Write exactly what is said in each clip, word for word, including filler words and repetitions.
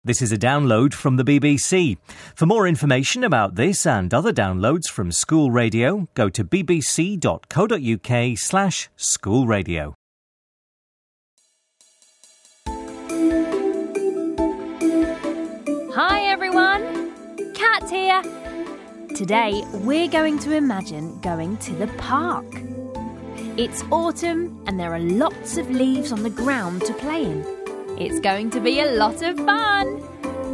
This is a download from the B B C. For more information about this and other downloads from School Radio, go to bbc.co.uk slash school radio. Hi everyone, Kat here. Today we're going to imagine going to the park. It's autumn and there are lots of leaves on the ground to play in. It's going to be a lot of fun.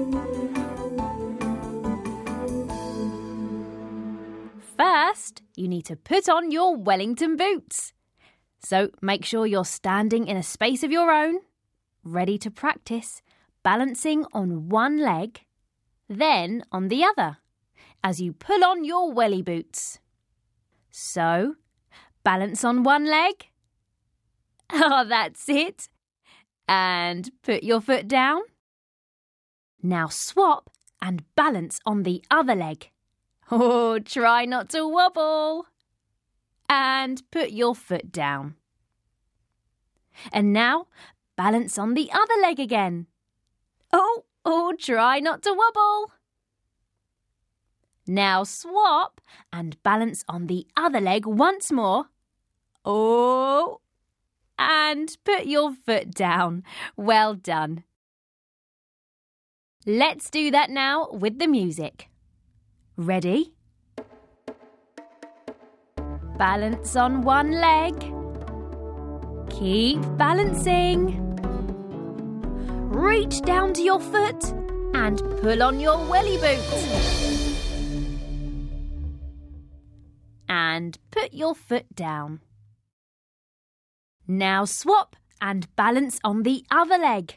First, you need to put on your Wellington boots. So make sure you're standing in a space of your own, ready to practice, balancing on one leg, then on the other, as you pull on your welly boots. So, balance on one leg. Oh, that's it. And put your foot down. Now swap and balance on the other leg. Oh, try not to wobble. And put your foot down. And now balance on the other leg again. Oh, oh, try not to wobble. Now swap and balance on the other leg once more. Oh, and put your foot down. Well done. Let's do that now with the music. Ready? Balance on one leg. Keep balancing. Reach down to your foot and pull on your welly boot. And put your foot down. Now swap and balance on the other leg.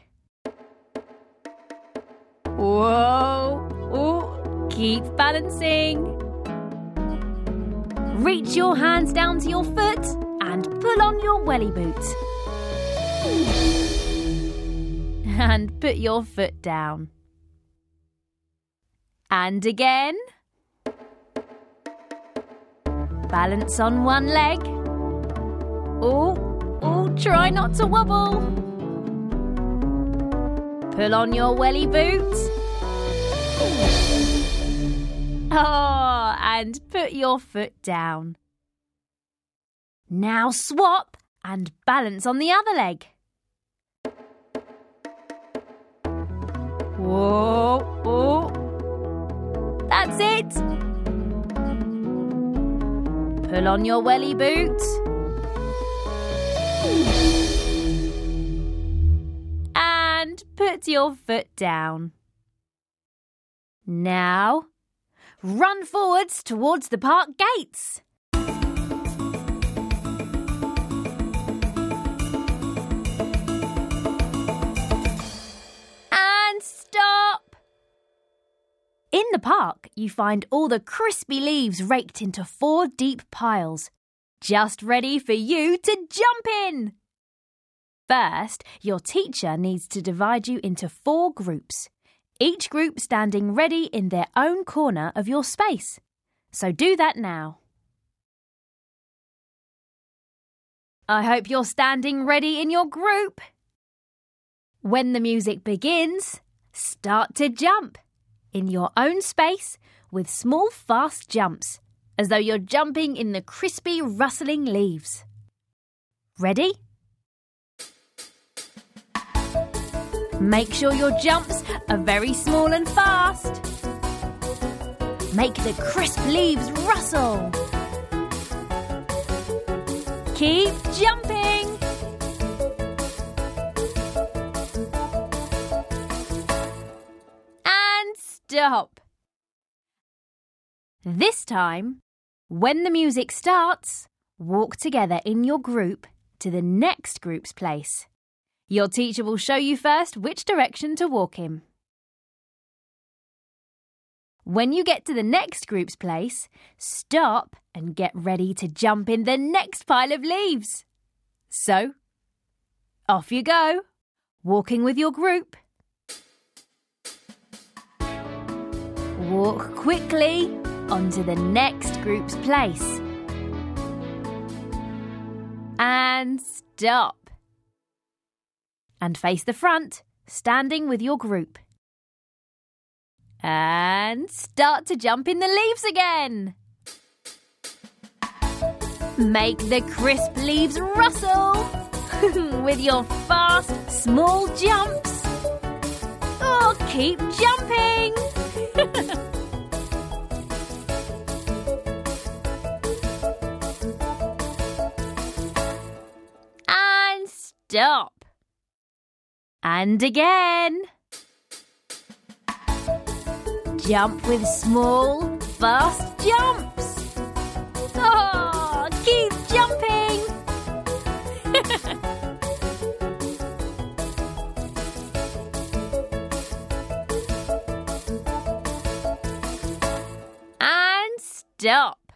Whoa! Oh, keep balancing. Reach your hands down to your foot and pull on your welly boot. And put your foot down. And again. Balance on one leg. Oh, oh, try not to wobble. Pull on your welly boot. Oh, and put your foot down. Now swap and balance on the other leg. Whoa, oh, that's it. Pull on your welly boot. And put your foot down. Now, run forwards towards the park gates. And stop. In the park, you find all the crispy leaves raked into four deep piles, just ready for you to jump in. First, your teacher needs to divide you into four groups, each group standing ready in their own corner of your space. So do that now. I hope you're standing ready in your group. When the music begins, start to jump in your own space with small fast jumps, as though you're jumping in the crispy rustling leaves. Ready? Make sure your jumps are very small and fast. Make the crisp leaves rustle. Keep jumping. And stop. This time, when the music starts, walk together in your group to the next group's place. Your teacher will show you first which direction to walk in. When you get to the next group's place, stop and get ready to jump in the next pile of leaves. So, off you go, walking with your group. Walk quickly onto the next group's place. And stop. And face the front, standing with your group. And start to jump in the leaves again. Make the crisp leaves rustle with your fast, small jumps. Oh, keep jumping. And stop. And again. Jump with small, fast jumps. Oh, keep jumping. And stop.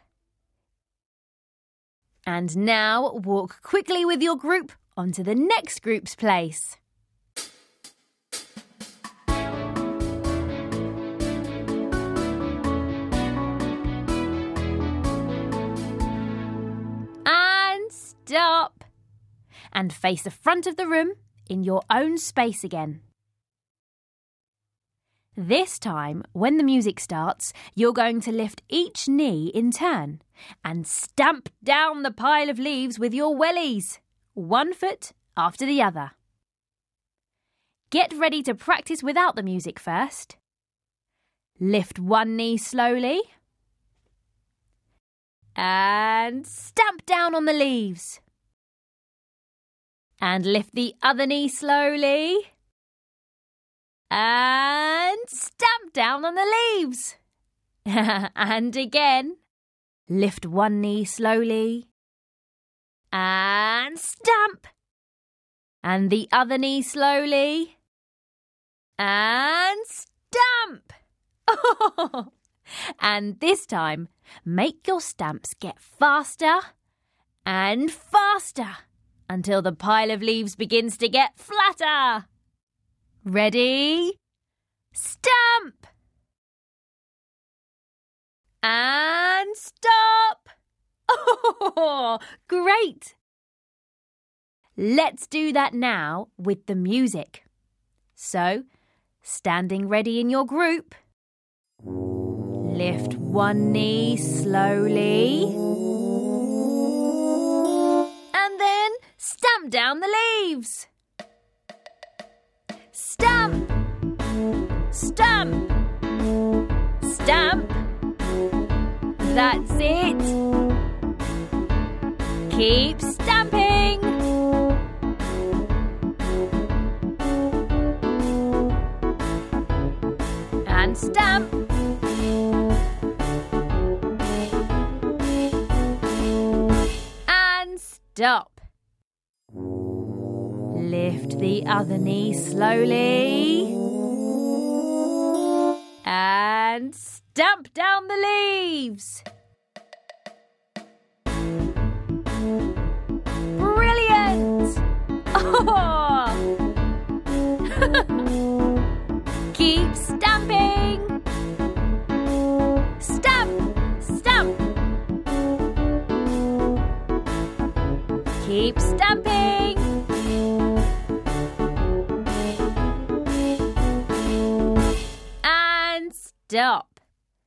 And now walk quickly with your group onto the next group's place. Stop. And face the front of the room in your own space again. This time, when the music starts, you're going to lift each knee in turn and stamp down the pile of leaves with your wellies, one foot after the other. Get ready to practice without the music first. Lift one knee slowly. And stamp down on the leaves. And lift the other knee slowly. And stamp down on the leaves. And again. Lift one knee slowly. And stamp. And the other knee slowly. And stamp. And this time, make your stamps get faster and faster until the pile of leaves begins to get flatter. Ready? Stamp! And stop! Oh, great! Let's do that now with the music. So, standing ready in your group. Lift one knee slowly. And then stamp down the leaves. Stamp. Stamp. Stamp. That's it. Keep stamping. And stamp. Stop. Lift the other knee slowly. And stamp down the leaves. Brilliant! Oh! Keep stamping. Stamp, stamp. Keep stamping. And stop.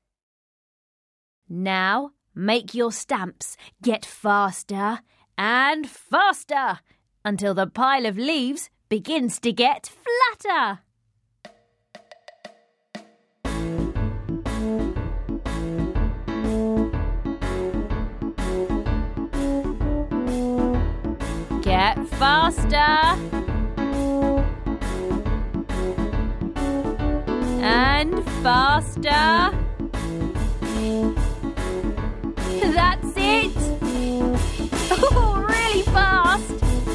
Now make your stamps get faster and faster until the pile of leaves begins to get flatter. Get faster. And faster. That's it. Oh, really fast.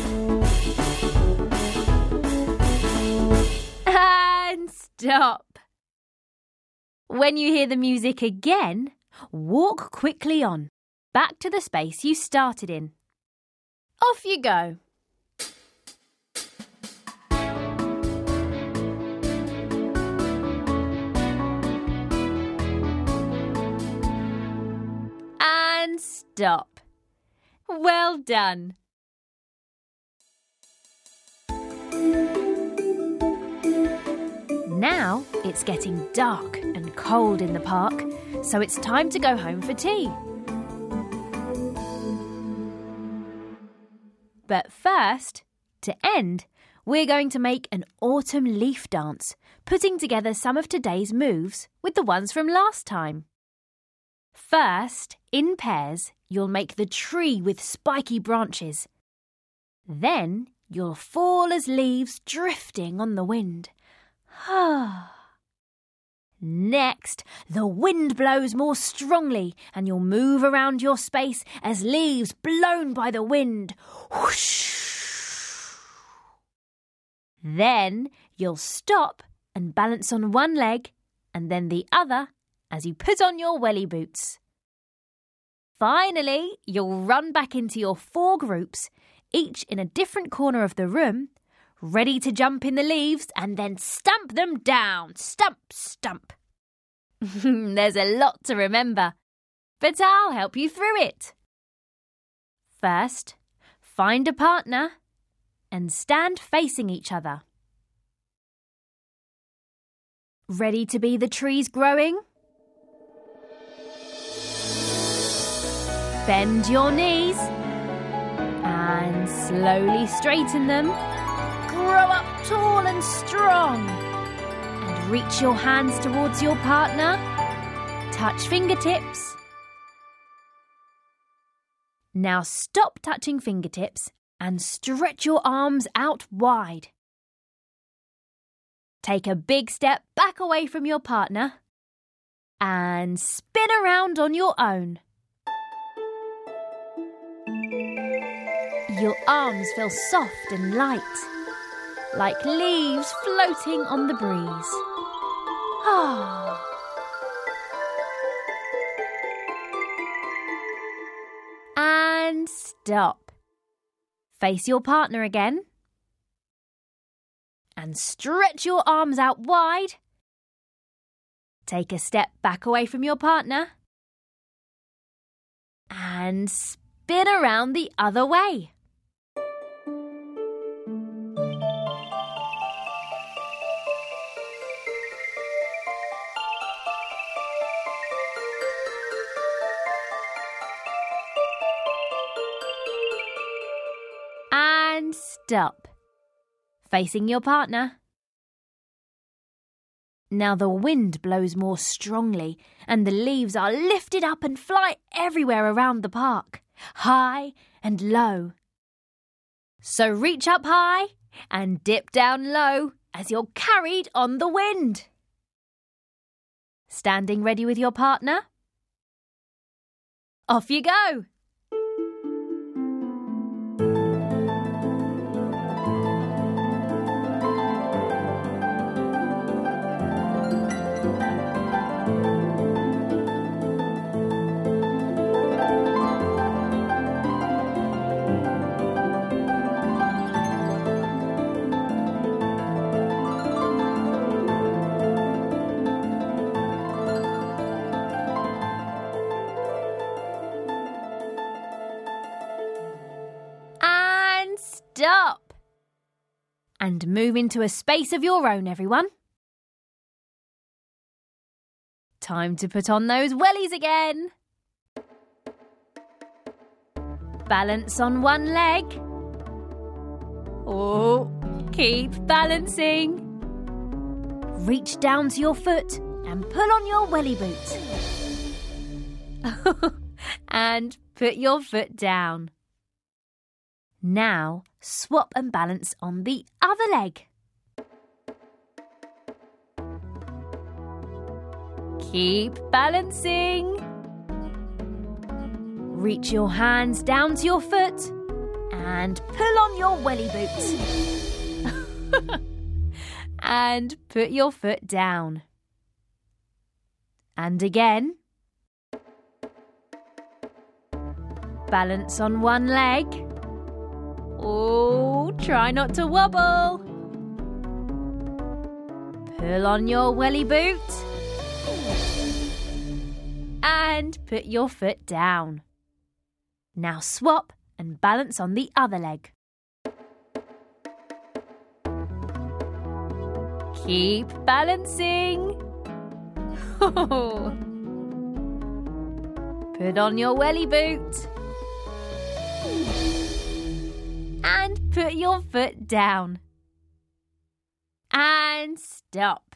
And stop. When you hear the music again, walk quickly on, back to the space you started in. Off you go. And stop. Well done. Now it's getting dark and cold in the park, so it's time to go home for tea. But first, to end, we're going to make an autumn leaf dance, putting together some of today's moves with the ones from last time. First, in pairs, you'll make the tree with spiky branches. Then you'll fall as leaves drifting on the wind. Next, the wind blows more strongly and you'll move around your space as leaves blown by the wind. Whoosh! Then you'll stop and balance on one leg and then the other as you put on your welly boots. Finally, you'll run back into your four groups, each in a different corner of the room, ready to jump in the leaves and then stamp them down. Stump, stump. There's a lot to remember, but I'll help you through it. First, find a partner and stand facing each other. Ready to be the trees growing? Bend your knees and slowly straighten them. Grow up tall and strong. And reach your hands towards your partner. Touch fingertips. Now stop touching fingertips and stretch your arms out wide. Take a big step back away from your partner and spin around on your own. Your arms feel soft and light, like leaves floating on the breeze. Ah. And stop. Face your partner again. And stretch your arms out wide. Take a step back away from your partner. And spin around the other way. And stop. Facing your partner. Now the wind blows more strongly and the leaves are lifted up and fly everywhere around the park, high and low. So reach up high and dip down low as you're carried on the wind. Standing ready with your partner? Off you go! Stop! And move into a space of your own, everyone. Time to put on those wellies again. Balance on one leg. Oh, keep balancing. Reach down to your foot and pull on your welly boot. And put your foot down. Now, swap and balance on the other leg. Keep balancing. Reach your hands down to your foot and pull on your welly boot. And put your foot down. And again. Balance on one leg. Oh, try not to wobble. Pull on your welly boot. And put your foot down. Now swap and balance on the other leg. Keep balancing. Put on your welly boot. And put your foot down. And stop.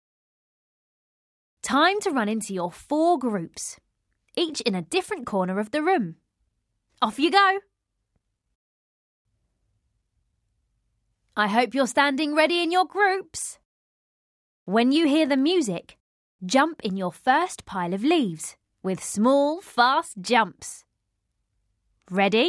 Time to run into your four groups, each in a different corner of the room. Off you go. I hope you're standing ready in your groups. When you hear the music, jump in your first pile of leaves with small, fast jumps. Ready?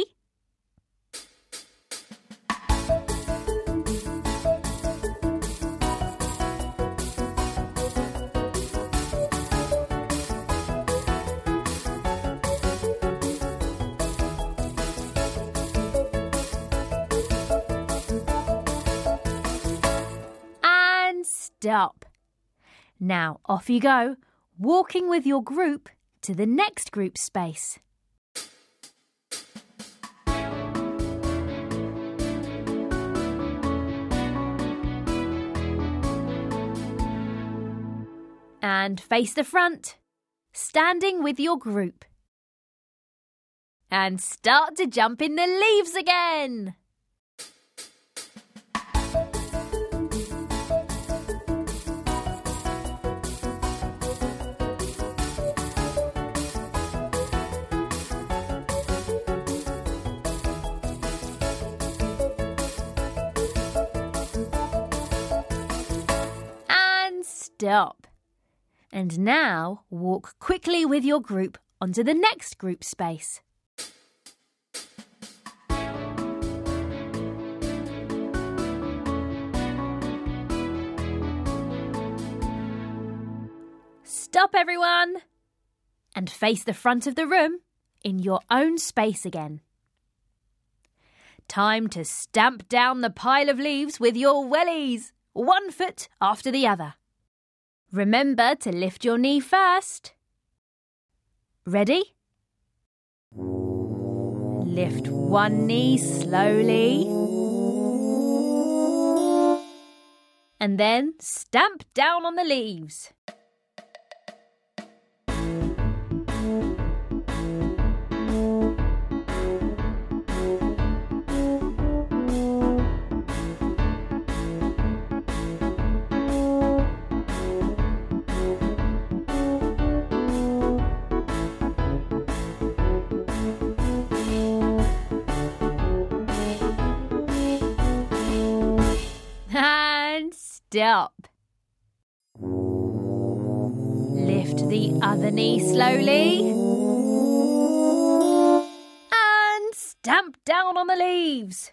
Stop. Now off you go, walking with your group to the next group space. And face the front, standing with your group. And start to jump in the leaves again. Stop. And now walk quickly with your group onto the next group space. Stop, everyone, and face the front of the room in your own space again. Time to stamp down the pile of leaves with your wellies, one foot after the other. Remember to lift your knee first. Ready? Lift one knee slowly. And then stamp down on the leaves. And stop. Lift the other knee slowly. And stamp down on the leaves.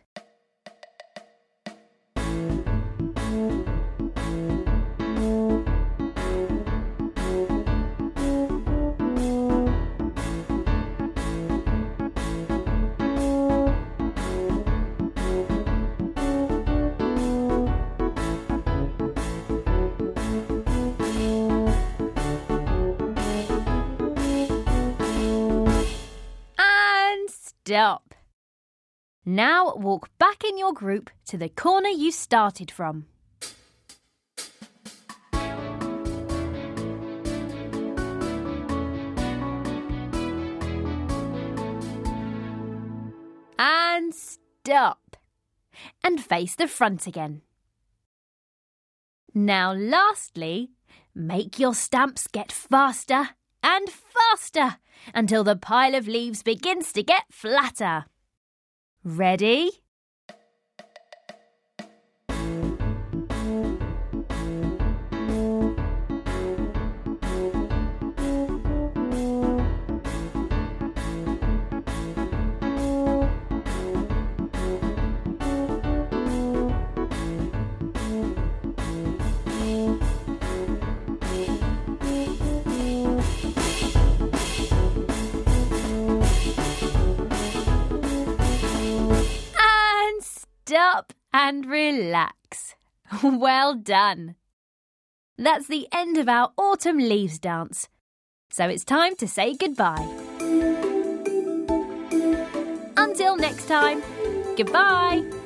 Stop. Now walk back in your group to the corner you started from. And stop. And face the front again. Now lastly, make your stamps get faster and faster until the pile of leaves begins to get flatter. Ready? Stop and relax. Well done. That's the end of our autumn leaves dance. So it's time to say goodbye. Until next time, goodbye.